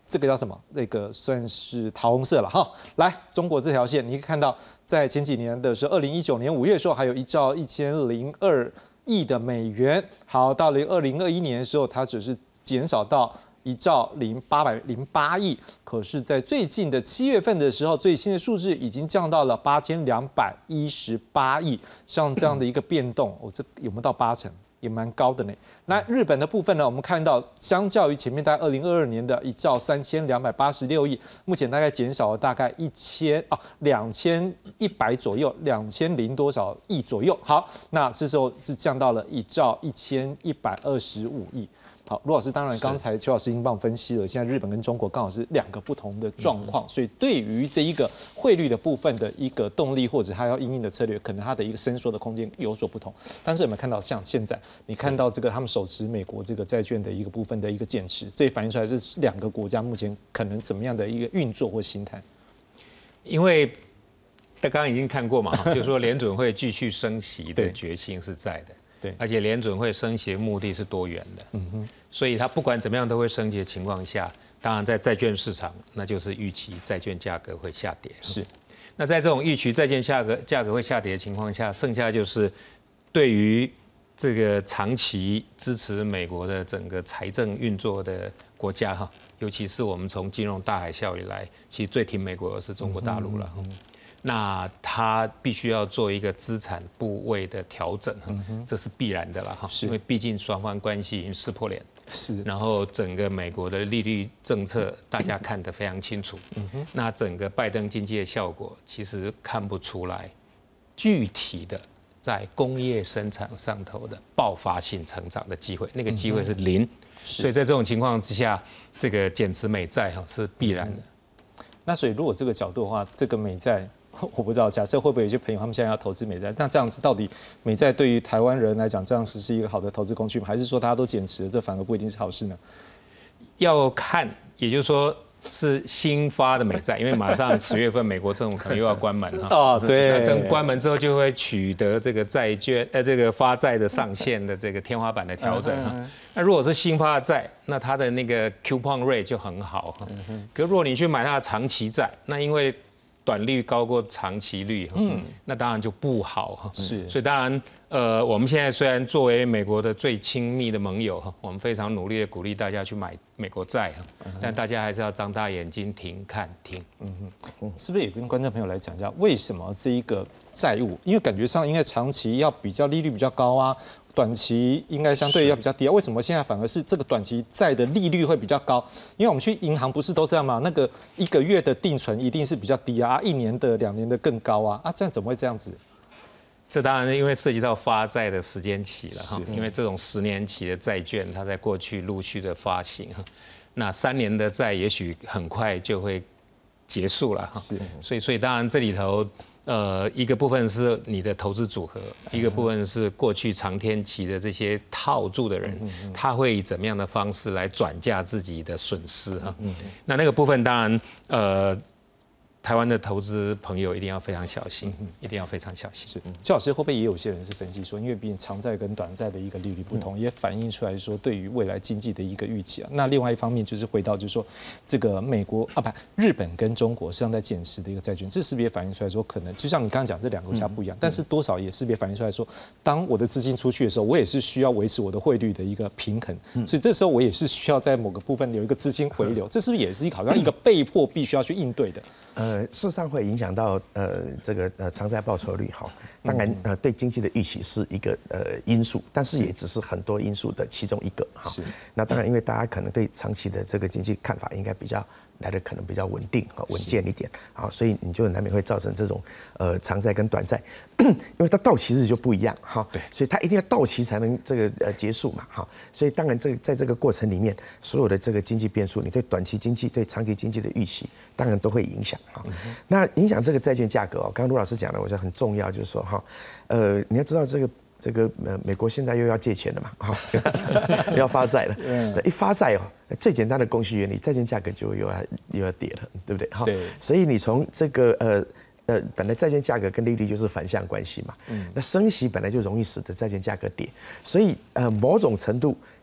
S1: 这个叫什么？那个算是桃红色了哈。来，中国这条线，你可以看到，在前几年的时候，2019年5月的时候，还有1兆1002亿的美元。好，到了2021年的时候，它只是减少到1兆808亿。可是，在最近的7月份的时候，最新的数字已经降到了8218亿。像这样的一个变动，这有没有到80%？也蛮高的呢。那日本的部分呢，我们看到相较于前面大概2022年的1兆3286亿，目前大概减少了大概2100左右，2000多少亿左右。好，那这时候是降到了1兆1125亿。好，卢老师，当然刚才邱老师已经帮我分析了，现在日本跟中国刚好是2个不同的状况，所以对于这一个汇率的部分的一个动力或者它要因应的策略，可能它的一个伸缩的空间有所不同。但是有没有看到像现在你看到这个他们手持美国这个债券的一个部分的一个减持，这也反映出来是2个国家目前可能怎么样的一个运作或心态？
S2: 因为刚刚已经看过嘛，就是说联准会继续升息的决心是在的。对，而且联准会升息的目的是多元的，所以它不管怎么样都会升息的情况下，当然在债券市场，那就是预期债券价格会下跌。
S1: 是，
S2: 那在这种预期债券价格会下跌的情况下，剩下就是对于这个长期支持美国的整个财政运作的国家哈，尤其是我们从金融大海啸以来，其实最挺美国的是中国大陆了。那他必须要做一个资产部位的调整，这是必然的了哈，因为毕竟双方关系已经撕破脸，
S1: 是，
S2: 然后整个美国的利率政策大家看得非常清楚，那整个拜登经济的效果其实看不出来具体的在工业生产上头的爆发性成长的机会，那个机会是0，所以在这种情况之下，这个减持美债哈是必然的。
S1: 那所以如果这个角度的话，这个美债。我不知道，假设会不会有些朋友他们现在要投资美债，那这样子到底美债对于台湾人来讲，这样是一个好的投资工具吗？还是说大家都减持了，这反而不一定是好事呢？
S2: 要看，也就是说是新发的美债，因为马上10月份美国政府可能又要关门哈。
S1: 哦，对。
S2: 那关门之后就会取得这个债券这个发债的上限的这个天花板的调整哈。那如果是新发的债，那它的那个 coupon rate 就很好哈。可如果你去买它的长期债，那因为短率高过长期率，那当然就不好。
S1: 是，
S2: 所以当然，我们现在虽然作为美国的最亲密的盟友，我们非常努力的鼓励大家去买美国债，但大家还是要张大眼睛听。
S1: 是不是也跟观众朋友来讲一下，为什么这一个债务，因为感觉上应该长期要比较利率比较高啊，短期应该相对要比较低啊，为什么现在反而是这个短期债的利率会比较高？因为我们去银行不是都这样吗？那个1个月的定存一定是比较低啊，1年的、2年的更高啊，这样怎么会这样子？
S2: 这当然因为涉及到发债的时间期了哈，因为这种10年期的债券，它在过去陆续的发行，那3年的债也许很快就会结束了哈，所以当然这里头。一个部分是你的投资组合，一个部分是过去长天期的这些套住的人，他会以怎么样的方式来转嫁自己的损失哈？那个部分当然台湾的投资朋友一定要非常小心，一定要非常小心。
S1: 是，邱老师会不会也有些人是分析说，因为毕竟长债跟短债的一个利率不同，也反映出来说对于未来经济的一个预期啊。那另外一方面就是回到就是说，这个美国日本跟中国实际上在减持的一个债券，这是不是也反映出来说，可能就像你刚刚讲这2个国家不一样，但是多少也是不是也反映出来说，当我的资金出去的时候，我也是需要维持我的汇率的一个平衡，所以这时候我也是需要在某个部分有一个资金回流，这是不是也是好像一个被迫必须要去应对的？
S3: 事实上会影响到这个长债报酬率哈，当然对经济的预期是一个因素，但是也只是很多因素的其中一个哈。是。那当然，因为大家可能对长期的这个经济看法应该比较来的可能比较稳定和稳健一点啊，所以你就难免会造成这种长债跟短债，因为它到期日就不一样哈，对，所以它一定要到期才能这个结束嘛哈，所以当然在这个过程里面，所有的这个经济变数，你对短期经济、对长期经济的预期，当然都会影响哈。那影响这个债券价格刚刚卢老师讲的，我觉得很重要，就是说哈，你要知道这个美国现在又要借钱了嘛，要发债了，一发债最简单的供需原理，债券价格就又要跌了，对不对？哈，所以你从这个本来债券价格跟利率就是反向关系嘛，那升息本来就容易使得债券价格跌，所以某种程度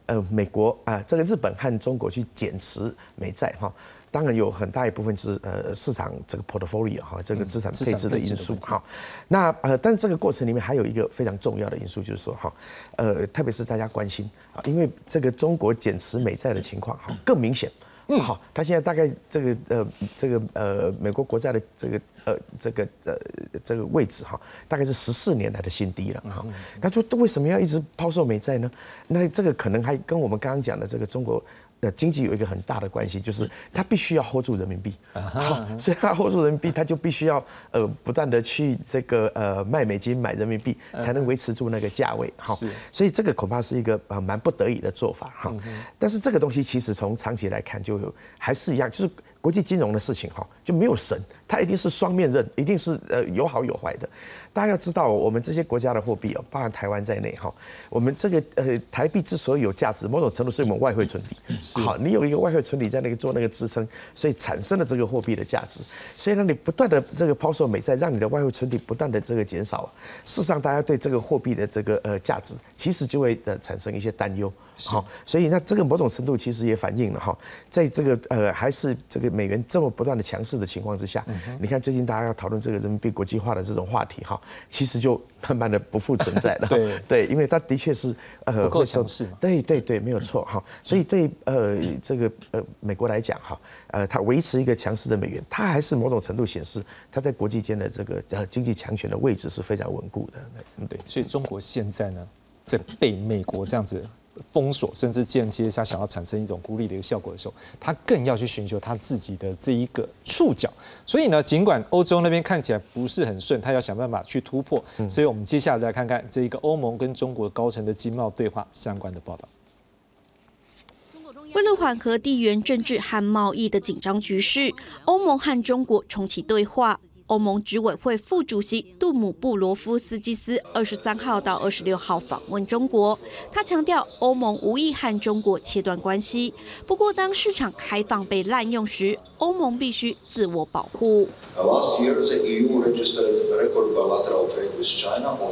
S3: 美国这个日本和中国去减持美债哈。当然有很大一部分是市场这个 portfolio 哈，这个资产配置的因素哈。那但这个过程里面还有一个非常重要的因素，就是说哈，特别是大家关心啊，因为这个中国减持美债的情况哈更明显。好，它现在大概这个美国国债的这个位置哈，大概是14年来的新低了哈。那就为什么要一直抛售美债呢？那这个可能还跟我们刚刚讲的这个中国经济有一个很大的关系，就是它必须要 hold 住人民币，所以它 hold 住人民币，它就必须要不断的去这个卖美金买人民币，才能维持住那个价位哈。所以这个恐怕是一个蛮不得已的做法哈。但是这个东西其实从长期来看，就还是一样，就是国际金融的事情哈，就没有神，它一定是双面刃，一定是有好有坏的。大家要知道，我们这些国家的货币包含台湾在内哈，我们这个台币之所以有价值，某种程度是我们外汇存底。好，你有一个外汇存底在那个做那个支撑，所以产生了这个货币的价值。所以呢，你不断的这个抛售美债，让你的外汇存底不断的这个减少。事实上，大家对这个货币的这个价值，其实就会产生一些担忧。好，所以那这个某种程度其实也反映了哈，在这个还是这个美元这么不断的强势的情况之下，你看最近大家要讨论这个人民币国际化的这种话题哈，其实就慢慢的不复存在了。对，因为它的确是
S1: 不够强势嘛。
S3: 对，没有错哈。所以对这个美国来讲哈，它维持一个强势的美元，它还是某种程度显示它在国际间的这个经济强权的位置是非常稳固的。
S1: 对，所以中国现在呢，在被美国这样子封锁，甚至间接他想要产生一种孤立的一个效果的时候，他更要去寻求他自己的这一个触角。所以呢，尽管欧洲那边看起来不是很顺，他要想办法去突破。所以我们接下来来看看这一个欧盟跟中国高层的经贸对话相关的报道。
S5: 为了缓和地缘政治和贸易的紧张局势，欧盟和中国重启对话。欧盟执委会副主席杜姆布罗夫斯基斯23号到26号访问中国，他强调欧盟无意和中国切断关系。不过，当市场开放被滥用时，欧盟必须自我保护。
S6: Last year, the EU registered a record bilateral trade with China of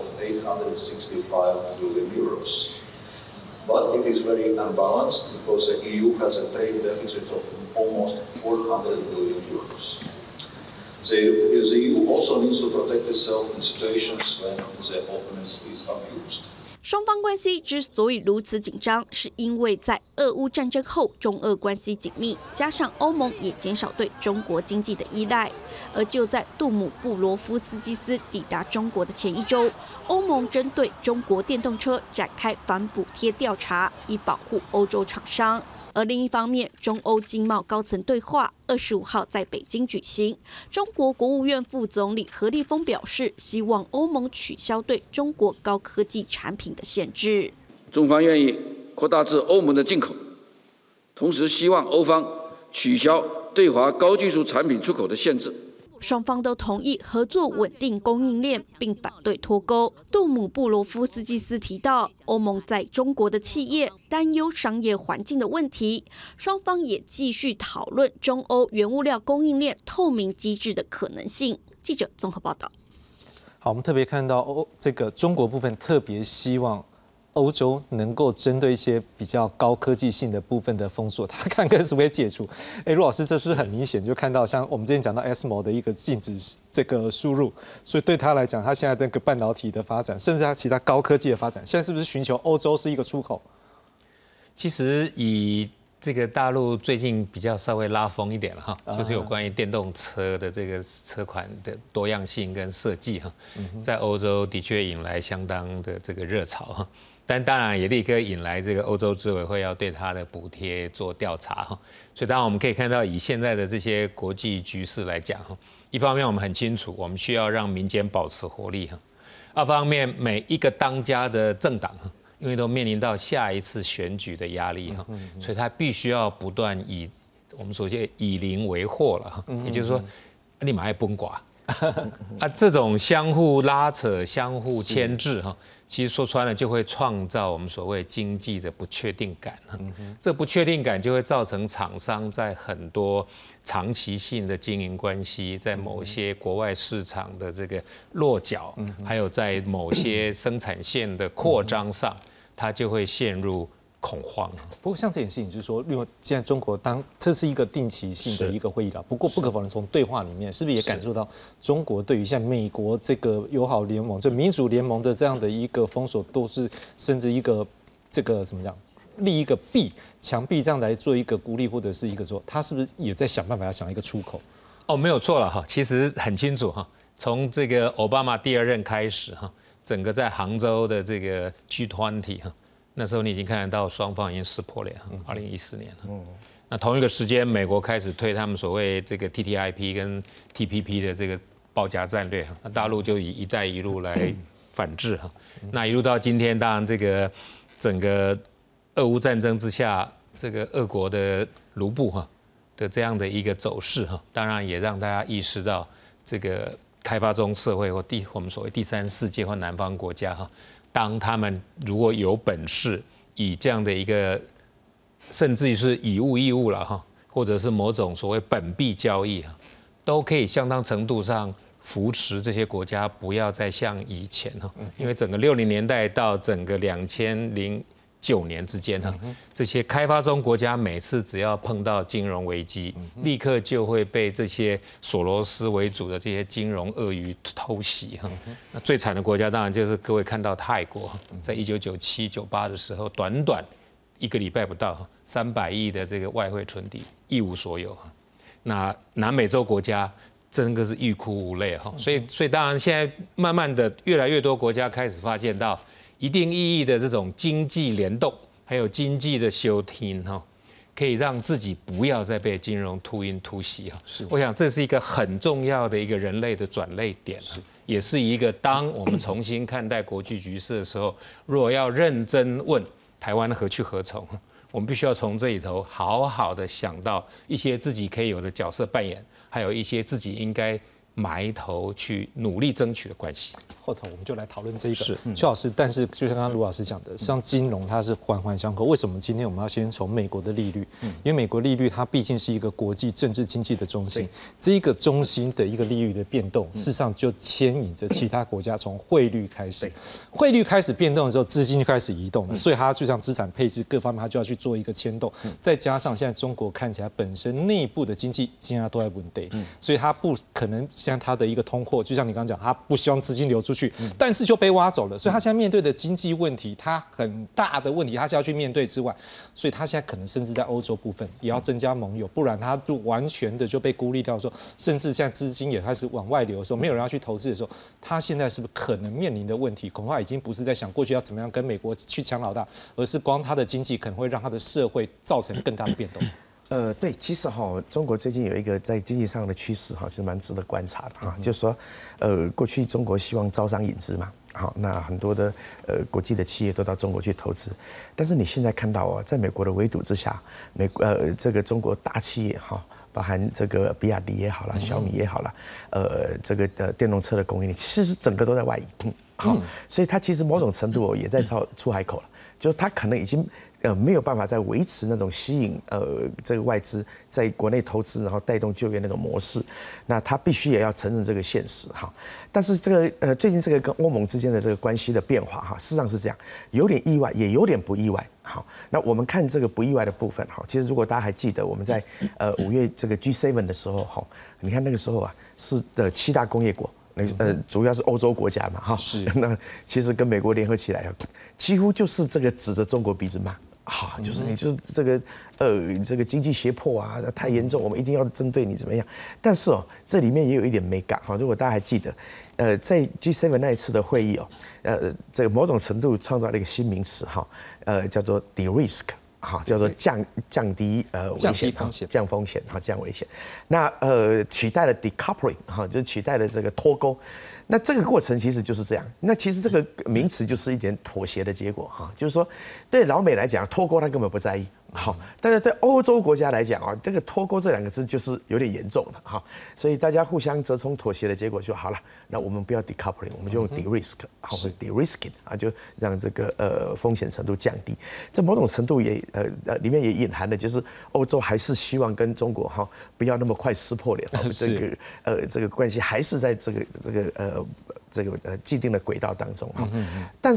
S6: 865 billion euros. But it is very unbalanced because the EU has a trade deficit of almost 400 billion euros. The EU also needs to protect itself in situations when the openness is abused.
S5: 双方关系之所以如此紧张，是因为在俄乌战争后，中俄关系紧密，加上欧盟也减少对中国经济的依赖。而就在杜姆布罗夫斯基斯抵达中国的前一周，欧盟针对中国电动车展开反补贴调查，以保护欧洲厂商。而另一方面，中欧经贸高层对话25号在北京举行。中国国务院副总理何立峰表示，希望欧盟取消对中国高科技产品的限制。
S7: 中方愿意扩大至欧盟的进口，同时希望欧方取消对华高技术产品出口的限制。
S5: 双方都同意合作稳定供应链，并反对脱钩。杜姆布罗夫斯基斯提到，欧盟在中国的企业担忧商业环境的问题，双方也继续讨论中欧原物料供应链透明机制的可能性。记者综合报道。
S1: 好，我们特别看到这个中国部分特别希望欧洲能够针对一些比较高科技性的部分的封锁，他看看是不是解除。陆老师，这是不是很明显就看到像我们之前讲到 ESMO 的一个禁止这个输入，所以对他来讲，他现在那个半导体的发展，甚至他其他高科技的发展，现在是不是寻求欧洲是一个出口？
S2: 其实以这个大陆最近比较稍微拉风一点了哈，就是有关于电动车的这个车款的多样性跟设计哈，在欧洲的确引来相当的这个热潮哈。但当然也立刻引来这个欧洲执委会要对它的补贴做调查哈，所以当然我们可以看到，以现在的这些国际局势来讲哈，一方面我们很清楚，我们需要让民间保持活力哈；二方面每一个当家的政党哈，因为都面临到下一次选举的压力哈，所以他必须要不断以我们所谓以邻为壑了哈，也就是说，立马爱崩寡啊，这种相互拉扯、相互牵制哈。其实说穿了，就会创造我们所谓经济的不确定感。这不确定感就会造成厂商在很多长期性的经营关系，在某些国外市场的这个落脚，还有在某些生产线的扩张上，它就会陷入恐慌。
S1: 不过像这件事情，就是说，因为现在中国这是一个定期性的一个会议了，不过不可否认，从对话里面是不是也感受到中国对于像美国这个友好联盟、这民主联盟的这样的一个封锁，都是甚至一个这个怎么讲，立一个墙壁这样来做一个孤立，或者是一个说，他是不是也在想办法要想一个出口？
S2: 哦，没有错了哈，其实很清楚哈，从这个奥巴马第2任开始哈，整个在杭州的这个 G20 哈。那时候你已经看得到双方已经撕破脸，2014年了。那同一个时间，美国开始推他们所谓这个 TTIP 跟 TPP 的这个包夹战略，那大陆就以“一带一路”来反制哈。那一路到今天，当然这个整个俄乌战争之下，这个俄国的卢布哈的这样的一个走势哈，当然也让大家意识到这个开发中社会或我们所谓第3世界或南方国家哈。当他们如果有本事以这样的一个，甚至于是以物易物了哈，或者是某种所谓本币交易哈，都可以相当程度上扶持这些国家不要再像以前哈，因为整个60年代到整个2009年之间哈，这些开发中国家每次只要碰到金融危机，立刻就会被这些索罗斯为主的这些金融鳄鱼偷袭哈。那最惨的国家当然就是各位看到泰国，在1997、98的时候，短短1个礼拜不到，300亿的这个外汇存底一无所有哈。那南美洲国家真的是欲哭无泪哈。所以当然现在慢慢的越来越多国家开始发现到。一定意义的这种经济联动，还有经济的修听哈，可以让自己不要再被金融突袭哈。是，我想这是一个很重要的一个人类的转捩点，是，也是一个当我们重新看待国际局势的时候，如果要认真问台湾何去何从，我们必须要从这里头好好的想到一些自己可以有的角色扮演，还有一些自己应该埋头去努力争取的关系。
S1: 后头我们就来讨论这一个，邱老师。但是就像刚刚卢老师讲的，像金融它是环环相扣。为什么今天我们要先从美国的利率？因为美国利率它毕竟是一个国际政治经济的中心，这一个中心的一个利率的变动，事实上就牵引着其他国家从汇率开始，汇率开始变动的时候，资金就开始移动了，所以它就像资产配置各方面，它就要去做一个牵动。再加上现在中国看起来本身内部的经济现在都在稳定，所以它不可能像它的一个通货，就像你刚刚讲，它不希望资金流出去，但是就被挖走了，所以他现在面对的经济问题，他很大的问题，他是要去面对之外，所以他现在可能甚至在欧洲部分也要增加盟友，不然他就完全的就被孤立掉的时候，甚至现在资金也开始往外流的时候，没有人要去投资的时候，他现在是不是可能面临的问题，恐怕已经不是在想过去要怎么样跟美国去抢老大，而是光他的经济可能会让他的社会造成更大的变动。
S3: 对，其实中国最近有一个在经济上的趋势其实蛮值得观察的就是说，过去中国希望招商引资嘛，那很多的国际的企业都到中国去投资，但是你现在看到在美国的围堵之下，这个中国大企业包含这个比亚迪也好啦，小米也好啦，这个电动车的供应链，其实整个都在外移，所以它其实某种程度也在出海口了，就是它可能已经没有办法再维持那种吸引这个外资在国内投资，然后带动就业那种模式，那他必须也要承认这个现实但是这个最近这个跟欧盟之间的这个关系的变化事实上是这样，有点意外，也有点不意外。好，那我们看这个不意外的部分其实如果大家还记得我们在5月这个 G7 的时候你看那个时候是的7大工业国。主要是欧洲国家嘛，是。那其实跟美国联合起来，几乎就是这个指着中国鼻子骂，就是你就是这个经济胁迫太严重，我们一定要针对你怎么样？但是这里面也有一点美感如果大家还记得，在 G7 那一次的会议这个某种程度创造了一个新名词叫做 de-risk。叫做降低危险，降风险，降危险。那取代了 decoupling， 就是取代了这个脱钩。那这个过程其实就是这样。那其实这个名词就是一点妥协的结果就是说，对老美来讲，脱钩他根本不在意。但是对欧洲国家来讲这个脱钩这2个字就是有点严重了所以大家互相折冲妥协的结果就好了。那我们不要 decoupling， 我们就用 de-risk， 或者 de-risking就让这个风险程度降低。这某种程度也里面也隐含的就是欧洲还是希望跟中国不要那么快撕破脸，这个关系还是在这个既定的轨道当中但是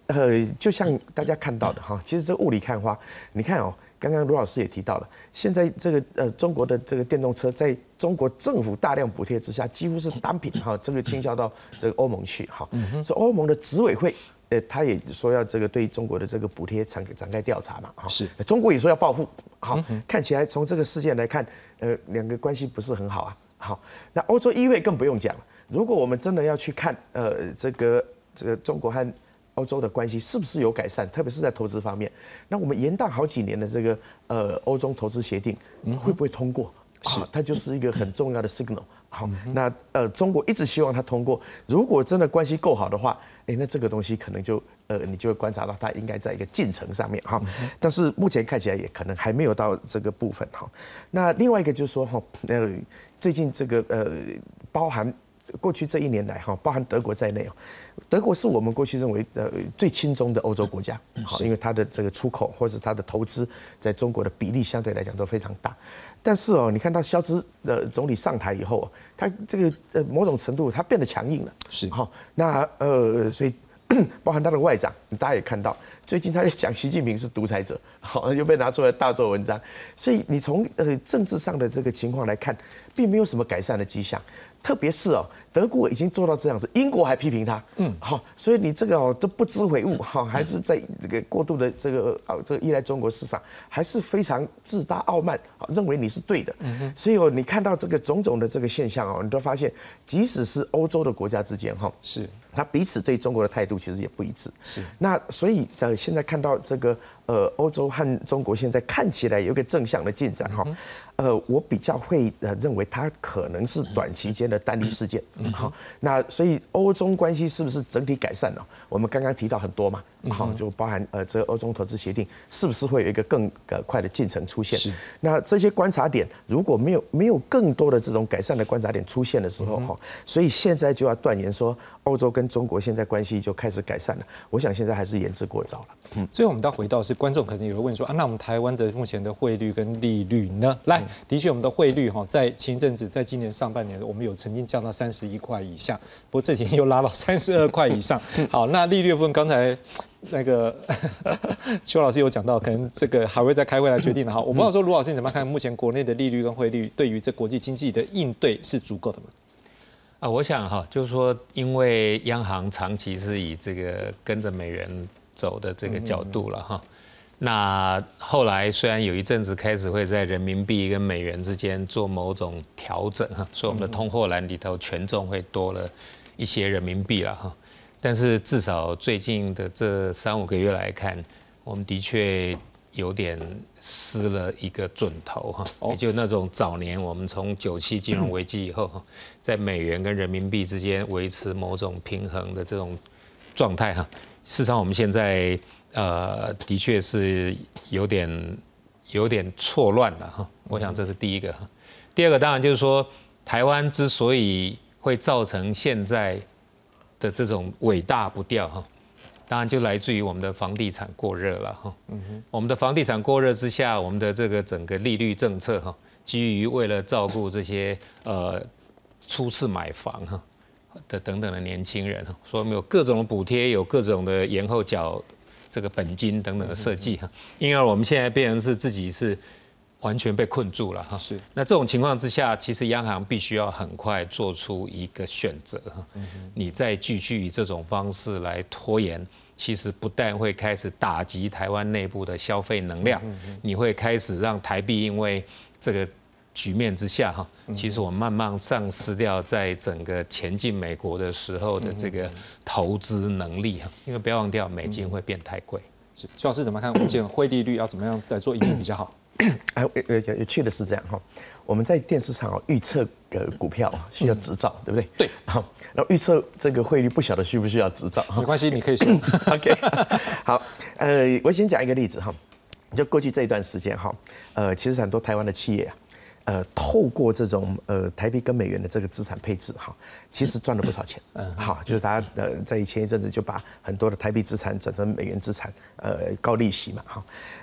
S3: 就像大家看到的哈，其实这雾里看花，你看哦，刚刚卢老师也提到了，现在这个中国的这个电动车，在中国政府大量补贴之下，几乎是单品哈，这个倾销到这个欧盟去哈，所以欧盟的执委会。他也说要这个对中国的这个补贴展开调查嘛，
S1: 是，
S3: 中国也说要报复，好，看起来从这个事件来看，两个关系不是很好啊，好，那欧洲议会更不用讲了，如果我们真的要去看，这个中国和欧洲的关系是不是有改善，特别是在投资方面，那我们延宕好几年的这个欧中投资协定会不会通过？是，它就是一个很重要的 signal。好，那中国一直希望它通过。如果真的关系够好的话，那这个东西可能就你就会观察到它应该在一个进程上面哈。但是目前看起来也可能还没有到这个部分哈。那另外一个就是说哈，最近这个包含过去这一年来哈，包含德国在内哦，德国是我们过去认为最亲中的欧洲国家，好，因为它的这个出口或是它的投资在中国的比例相对来讲都非常大。但是哦，你看到肖兹总理上台以后，他这个某种程度他变得强硬了，
S1: 是
S3: 好，那所以包含他的外长，大家也看到，最近他也讲习近平是独裁者，好，又被拿出来大做文章。所以你从政治上的这个情况来看，并没有什么改善的迹象。特别是哦，德国已经做到这样子，英国还批评他，好，所以你这个哦都不知悔悟，哈，还是在这个过度的这个依赖中国市场，还是非常自大傲慢，认为你是对的，所以哦，你看到这个种种的这个现象哦，你都发现，即使是欧洲的国家之间哈，
S1: 是，
S3: 他彼此对中国的态度其实也不一致，
S1: 是，
S3: 那所以现在看到这个欧洲和中国现在看起来有一个正向的进展哈。我比较会认为它可能是短期间的单一事件，好，那所以欧中关系是不是整体改善了？我们刚刚提到很多嘛，好，就包含这个欧中投资协定是不是会有一个更快的进程出现？那这些观察点如果没有更多的这种改善的观察点出现的时候，哈，所以现在就要断言说欧洲跟中国现在关系就开始改善了。我想现在还是言之过早了。
S1: 最后我们到回到是观众可能也会问说啊，那我们台湾的目前的汇率跟利率呢？来。的确，我们的汇率哈，在前一阵子，在今年上半年，我们有曾经降到31块以下，不过这几天又拉到32块以上。好，那利率部分，刚才那个邱老师有讲到，可能这个还会再开会来决定了哈。我不知道说卢老师你怎么看目前国内的利率跟汇率对于这国际经济的应对是足够的吗？
S2: 我想哈，就是说，因为央行长期是以这个跟着美元走的这个角度了哈。那后来虽然有一阵子开始会在人民币跟美元之间做某种调整哈，所以我们的通货栏里头权重会多了一些人民币了哈。但是至少最近的这3-5个月来看，我们的确有点失了一个准头哈，也就那种早年我们从97金融危机以后，在美元跟人民币之间维持某种平衡的这种状态哈。事实上我们现在。的确是有点错乱了哈，我想这是第一个。第二个当然就是说，台湾之所以会造成现在的这种尾大不掉哈，当然就来自于我们的房地产过热了哈。我们的房地产过热之下，我们的这个整个利率政策哈，基于为了照顾这些初次买房哈的等等的年轻人哈，所以我们有各种的补贴，有各种的延后缴这个本金等等的设计哈，因而我们现在变成是自己是完全被困住了哈。是。那这种情况之下，其实央行必须要很快做出一个选择哈。你再继续以这种方式来拖延，其实不但会开始打击台湾内部的消费能量，你会开始让台币因为这个局面之下哈，其实我们慢慢丧失掉在整个前进美国的时候的这个投资能力哈，因为不要忘掉美金会变太贵。
S1: 是，邱老师怎么看？我们这个汇利率要怎么样来做应对比较好？
S3: 有趣的是这样哈，我们在电视上预测股票需要执照，对不对？
S1: 对。
S3: 好，然后预测这个汇率不晓得需不需要执照？
S1: 没关系，你可以说。
S3: OK。好，我先讲一个例子哈，就过去这一段时间哈，其实很多台湾的企业啊。透过这种台币跟美元的这个资产配置哈，其实赚了不少钱。好，就是大家在前一阵子就把很多的台币资产转成美元资产，高利息嘛哈。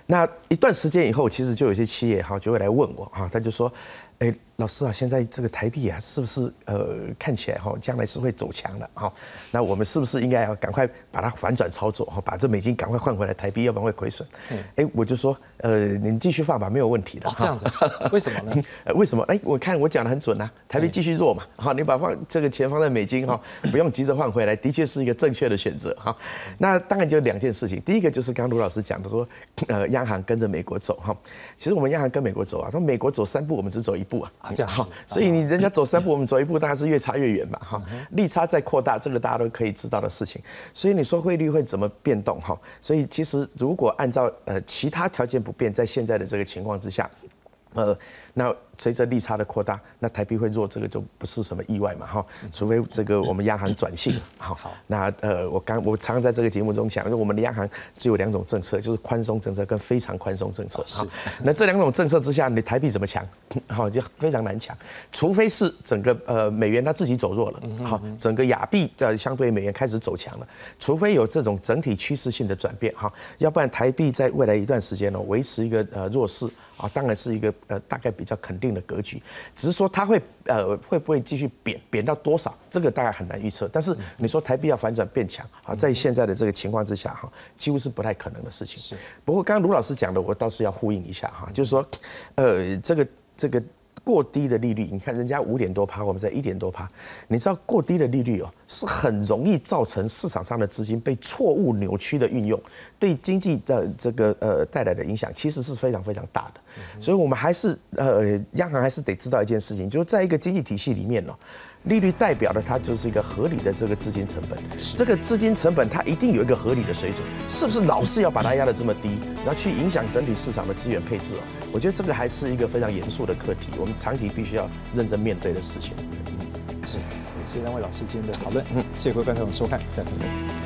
S3: 那一段时间以后，其实就有些企业就会来问我他就说，老师啊，现在这个台币啊，是不是看起来将来是会走强的那我们是不是应该要赶快把它反转操作把这美金赶快换回来台币，要不然会亏损。我就说你继续放吧，没有问题的。
S1: 这样子，为什么呢？
S3: 为什么？我看我讲得很准啊，台币继续弱嘛，你把这个钱放在美金不用急着换回来，的确是一个正确的选择那当然就2件事情，第一个就是刚刚卢老师讲的说，央行跟着美国走其实我们央行跟美国走说美国走3步，我们只走1步
S1: 这样子，
S3: 所以人家走3步，我们走1步，当然是越差越远嘛利差在扩大，这个大家都可以知道的事情。所以你说汇率会怎么变动所以其实如果按照其他条件不变，在现在的这个情况之下，那随着利差的扩大，那台币会弱，这个就不是什么意外嘛除非这个我们央行转性那我常常在这个节目中讲，我们的央行只有2种政策，就是宽松政策跟非常宽松政策那这2种政策之下，你台币怎么强就非常难强，除非是整个美元它自己走弱了整个亚币相对美元开始走强了，除非有这种整体趋势性的转变要不然台币在未来一段时间维持一个弱势当然是一个大概比较肯定的格局，只是说它会不会继续贬到多少，这个大概很难预测。但是你说台币要反转变强在现在的这个情况之下几乎是不太可能的事情。不过刚刚卢老师讲的，我倒是要呼应一下就是说这个过低的利率，你看人家5点多%，我们在1点多%，你知道过低的利率是很容易造成市场上的资金被错误扭曲的运用，对经济的这个带来的影响其实是非常非常大的。所以我们还是央行还是得知道一件事情，就是在一个经济体系里面利率代表的它就是一个合理的这个资金成本，这个资金成本它一定有一个合理的水准，是不是老是要把它压得这么低，然后去影响整体市场的资源配置我觉得这个还是一个非常严肃的课题，我们长期必须要认真面对的事情。
S1: 是，谢谢2位老师今天的讨论，谢谢各位观众收看，再会。